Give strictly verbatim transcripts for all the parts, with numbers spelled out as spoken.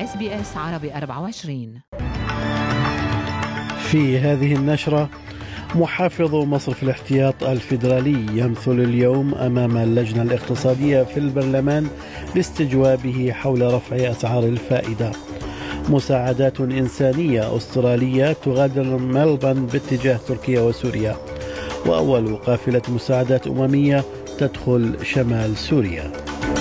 إس بي إس عربي أربعة وعشرين. في هذه النشرة، محافظ مصرف الاحتياط الفيدرالي يمثل اليوم أمام اللجنة الاقتصادية في البرلمان لاستجوابه حول رفع أسعار الفائدة. مساعدات إنسانية أسترالية تغادر ملبن باتجاه تركيا وسوريا. وأول قافلة مساعدات أممية تدخل شمال سوريا.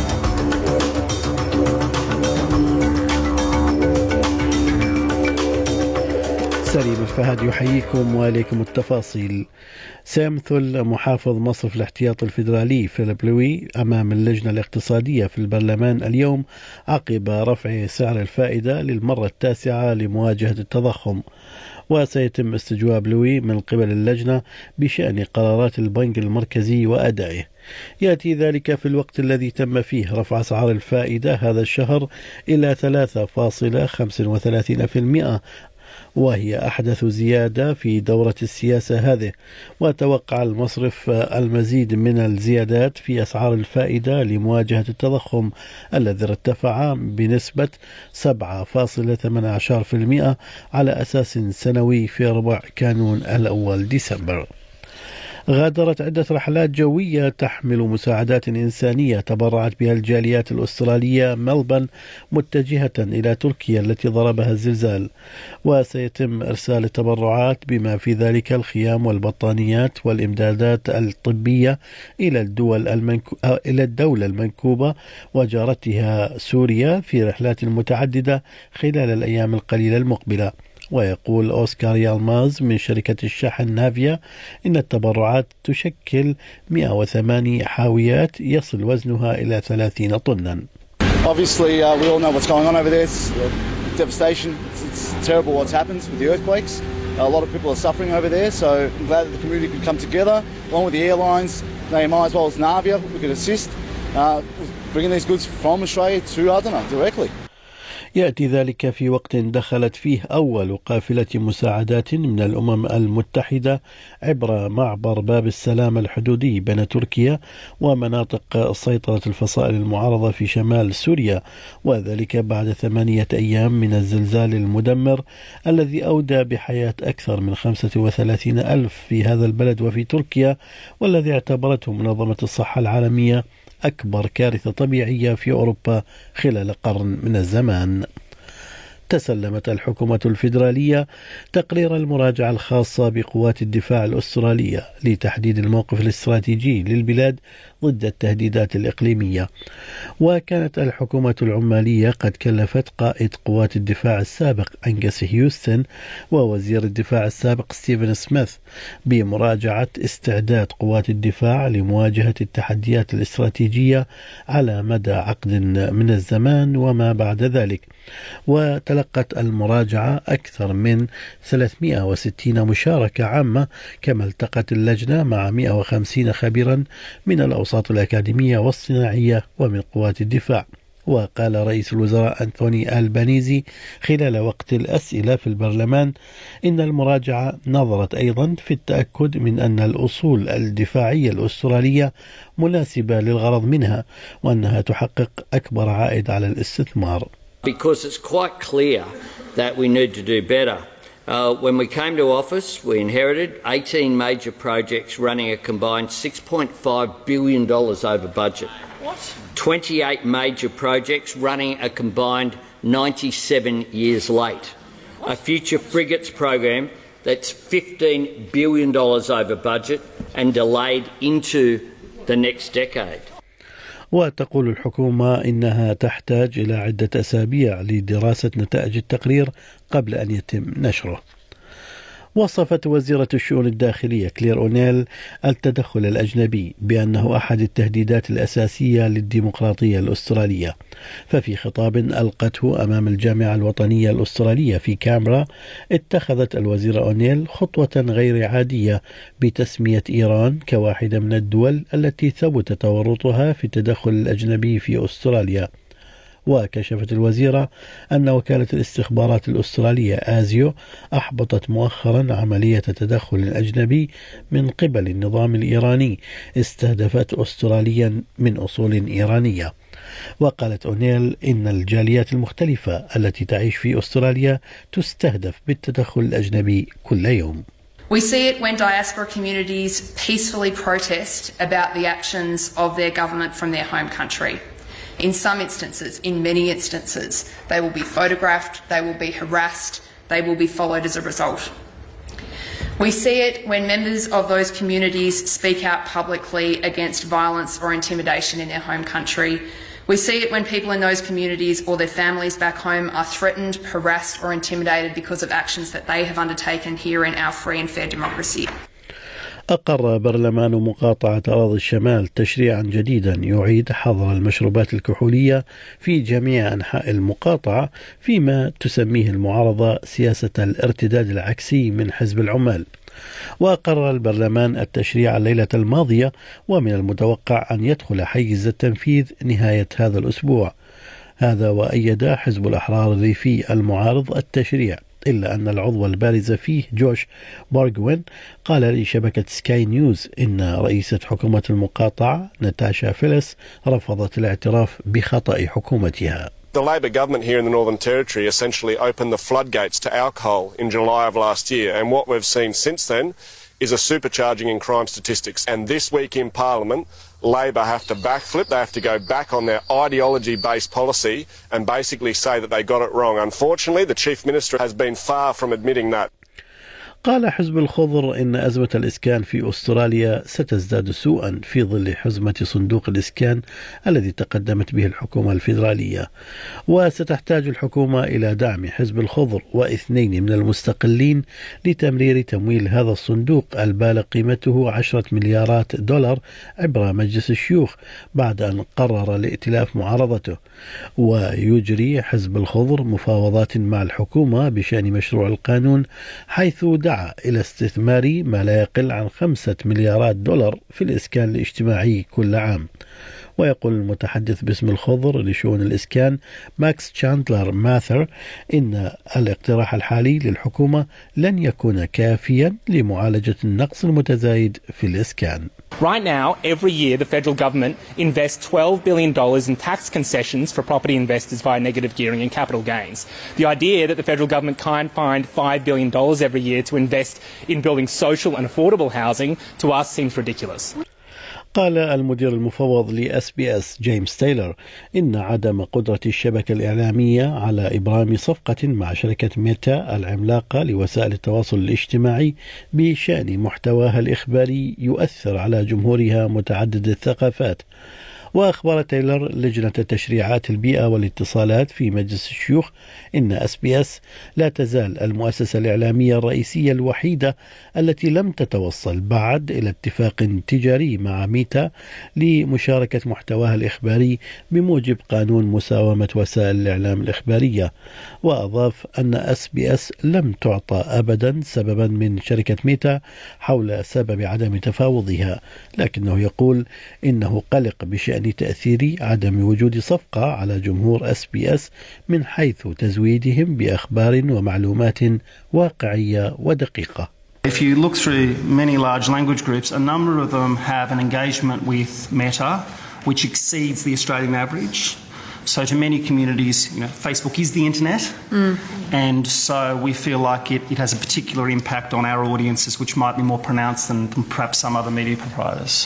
سليم الفهد يحييكم وإليكم التفاصيل. سيمثل محافظ مصرف الاحتياط الفيدرالي فيليب لوي أمام اللجنة الاقتصادية في البرلمان اليوم عقب رفع سعر الفائدة للمرة التاسعة لمواجهة التضخم. وسيتم استجواب لوي من قبل اللجنة بشأن قرارات البنك المركزي وأدائه. يأتي ذلك في الوقت الذي تم فيه رفع أسعار الفائدة هذا الشهر إلى ثلاثة فاصلة خمسة وثلاثين بالمئة، وهي أحدث زيادة في دورة السياسة هذه. وتوقع المصرف المزيد من الزيادات في أسعار الفائدة لمواجهة التضخم الذي ارتفع بنسبة سبعة فاصلة ثمانية عشر بالمئة على أساس سنوي في ربع كانون الأول ديسمبر. غادرت عدة رحلات جوية تحمل مساعدات إنسانية تبرعت بها الجاليات الأسترالية ملبن متجهة إلى تركيا التي ضربها الزلزال. وسيتم إرسال التبرعات بما في ذلك الخيام والبطانيات والإمدادات الطبية إلى الدول المنكو... إلى الدولة المنكوبة وجارتها سوريا في رحلات متعددة خلال الأيام القليلة المقبلة. ويقول أوسكار يالماز من شركة الشحن نافيا إن التبرعات تشكل مئة وثمانية حاويات يصل وزنها إلى ثلاثين طنا. Obviously, uh, we all know what's going on over there. It's uh, devastation. It's, it's terrible what's happened with the earthquakes. A lot of people are suffering over there, so I'm glad that the community could come together, along with the airlines. They might as well as Navia, we could assist uh, with bringing these goods from Australia to Adana directly. يأتي ذلك في وقت دخلت فيه أول قافلة مساعدات من الأمم المتحدة عبر معبر باب السلام الحدودي بين تركيا ومناطق سيطرة الفصائل المعارضة في شمال سوريا، وذلك بعد ثمانية أيام من الزلزال المدمر الذي أودى بحياة أكثر من خمسة وثلاثين ألف في هذا البلد وفي تركيا، والذي اعتبرته منظمة الصحة العالمية أكبر كارثة طبيعية في أوروبا خلال قرن من الزمان. تسلمت الحكومة الفيدرالية تقرير المراجعة الخاصة بقوات الدفاع الأسترالية لتحديد الموقف الاستراتيجي للبلاد ضد التهديدات الإقليمية. وكانت الحكومة العمالية قد كلفت قائد قوات الدفاع السابق أنجس هيوستن ووزير الدفاع السابق ستيفن سميث بمراجعة استعداد قوات الدفاع لمواجهة التحديات الاستراتيجية على مدى عقد من الزمان وما بعد ذلك. وتلقت المراجعة أكثر من ثلاثمئة وستين مشاركة عامة، كما التقت اللجنة مع مئة وخمسين خبيرا من الأوساط الأكاديمية والصناعية ومن قوات الدفاع. وقال رئيس الوزراء أنتوني ألبانيزي خلال وقت الأسئلة في البرلمان إن المراجعة نظرت أيضا في التأكد من أن الأصول الدفاعية الأسترالية مناسبة للغرض منها وأنها تحقق أكبر عائد على الاستثمار. Because it's quite clear that we need to do better. Uh, when we came to office, we inherited eighteen major projects running a combined six point five billion dollars over budget. What? twenty-eight major projects running a combined ninety-seven years late. What? A future frigates program that's fifteen billion dollars over budget and delayed into the next decade. وتقول الحكومة إنها تحتاج إلى عدة أسابيع لدراسة نتائج التقرير قبل أن يتم نشره. وصفت وزيرة الشؤون الداخلية كلير أونيل التدخل الأجنبي بأنه أحد التهديدات الأساسية للديمقراطية الأسترالية. ففي خطاب ألقته أمام الجامعة الوطنية الأسترالية في كامبرا، اتخذت الوزيرة أونيل خطوة غير عادية بتسمية إيران كواحدة من الدول التي ثبت تورطها في التدخل الأجنبي في أستراليا. وكشفت الوزيرة أن وكالة الاستخبارات الأسترالية آزيو أحبطت مؤخرا عملية تدخل أجنبي من قبل النظام الإيراني استهدفت أستراليا من أصول إيرانية. وقالت أونيل إن الجاليات المختلفة التي تعيش في أستراليا تستهدف بالتدخل الأجنبي كل يوم. We see it when diaspora communities peacefully protest about the actions of their government from their home country. In some instances, in many instances, they will be photographed, they will be harassed, they will be followed as a result. We see it when members of those communities speak out publicly against violence or intimidation in their home country. We see it when people in those communities or their families back home are threatened, harassed or intimidated because of actions that they have undertaken here in our free and fair democracy. أقر برلمان مقاطعة أراضي الشمال تشريعا جديدا يعيد حظر المشروبات الكحولية في جميع أنحاء المقاطعة فيما تسميه المعارضة سياسة الارتداد العكسي من حزب العمال. وقرر البرلمان التشريع الليلة الماضية ومن المتوقع أن يدخل حيز التنفيذ نهاية هذا الأسبوع. هذا وأيد حزب الأحرار الريفي المعارض التشريع، إلا أن العضو البارز فيه جوش بارغوين قال لشبكة سكاي نيوز إن رئيسة حكومة المقاطعة ناتاشا فيلس رفضت الاعتراف بخطأ حكومتها. The Labor government here in the Northern Territory essentially opened the floodgates to alcohol in July of last year, and what we've seen since then is a supercharging in crime statistics. And this week in Parliament, Labor have to backflip, they have to go back on their ideology-based policy and basically say that they got it wrong. Unfortunately, the Chief Minister has been far from admitting that. قال حزب الخضر إن أزمة الإسكان في أستراليا ستزداد سوءا في ظل حزمة صندوق الإسكان الذي تقدمت به الحكومة الفيدرالية، وستحتاج الحكومة إلى دعم حزب الخضر واثنين من المستقلين لتمرير تمويل هذا الصندوق البالغ قيمته عشرة مليارات دولار عبر مجلس الشيوخ بعد أن قرر الائتلاف معارضته. ويجري حزب الخضر مفاوضات مع الحكومة بشأن مشروع القانون، حيث دعا إلى استثمار ما لا يقل عن خمسة مليارات دولار في الإسكان الاجتماعي كل عام. ويقول المتحدث باسم الخضر لشؤون الإسكان ماكس تشاندلر ماثر إن الاقتراح الحالي للحكومة لن يكون كافيا لمعالجة النقص المتزايد في الإسكان. Right now, every year the federal government invests twelve billion dollars in tax concessions for property investors via negative gearing and capital gains. The idea that the federal government can't find five billion dollars every year to invest in building social and affordable housing to us seems ridiculous. قال المدير المفوض لإس بي إس جيمس تايلر إن عدم قدرة الشبكة الإعلامية على إبرام صفقة مع شركة ميتا العملاقة لوسائل التواصل الاجتماعي بشأن محتواها الإخباري يؤثر على جمهورها متعدد الثقافات. وأخبر تايلر لجنة تشريعات البيئة والاتصالات في مجلس الشيوخ إن إس بي إس لا تزال المؤسسة الإعلامية الرئيسية الوحيدة التي لم تتوصل بعد إلى اتفاق تجاري مع ميتا لمشاركة محتواها الإخباري بموجب قانون مساومة وسائل الإعلام الإخبارية. وأضاف أن إس بي إس لم تعطى أبدا سببا من شركة ميتا حول سبب عدم تفاوضها، لكنه يقول إنه قلق بشأن تأثير عدم وجود صفقة على جمهور إس بي إس من حيث تزويدهم بأخبار ومعلومات واقعية ودقيقة. If you look through many large language groups, a number of them have an engagement with Meta which exceeds the Australian average. So to many communities, you know, Facebook is the internet, mm. and so we feel like it, it has a particular impact on our audiences which might be more pronounced than, than perhaps some other media providers.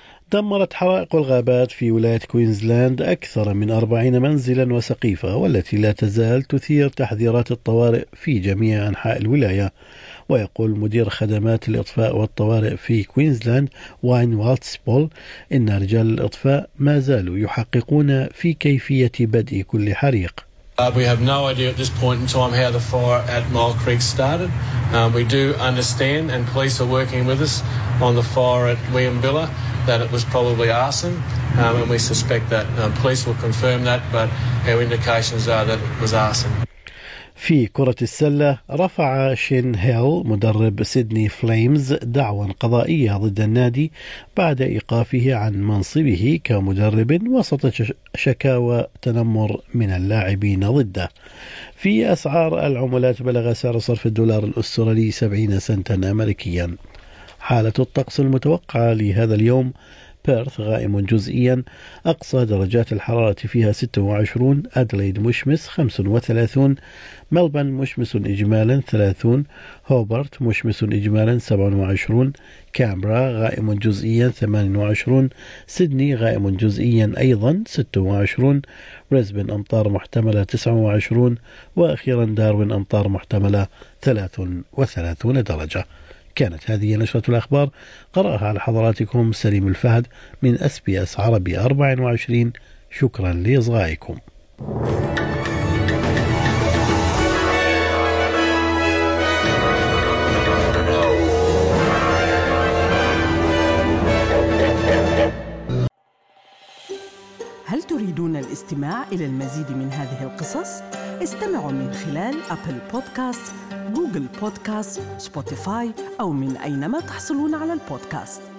دمرت حرائق الغابات في ولاية كوينزلاند أكثر من أربعين منزلا وسقيفة، والتي لا تزال تثير تحذيرات الطوارئ في جميع أنحاء الولاية. ويقول مدير خدمات الإطفاء والطوارئ في كوينزلاند واين والتسبول إن رجال الإطفاء ما زالوا يحققون في كيفية بدء كل حريق. Uh, we have no idea at this point in time how the fire at Mile Creek started. Um, we do understand, and police are working with us on the fire at Williambilla, that it was probably arson, um, and we suspect that. Um, police will confirm that, but our indications are that it was arson. في كرة السلة رفع شين هيل مدرب سيدني فليمز دعوى قضائية ضد النادي بعد إيقافه عن منصبه كمدرب وسط شكاوى تنمر من اللاعبين ضده. في أسعار العملات بلغ سعر صرف الدولار الأسترالي سبعين سنتا أمريكيا. حالة الطقس المتوقعة لهذا اليوم: بيرث غائم جزئيا أقصى درجات الحرارة فيها ستة وعشرون، أدليد مشمس خمسة وثلاثون، ملبن مشمس إجمالا ثلاثون، هوبرت مشمس إجمالا سبعة وعشرون، كامبرا غائم جزئيا ثمانية وعشرون، سيدني غائم جزئيا أيضا ستة وعشرون، بريسبن أمطار محتملة تسعة وعشرون، وأخيرا داروين أمطار محتملة ثلاثة وثلاثون درجة. كانت هذه نشرة الأخبار قرأها على حضراتكم سليم الفهد من أس بي أس عربي أربعة وعشرين. شكرا لإصغائكم. هل تريدون الاستماع إلى المزيد من هذه القصص؟ استمعوا من خلال أبل بودكاست، جوجل بودكاست، سبوتيفاي أو من أينما تحصلون على البودكاست.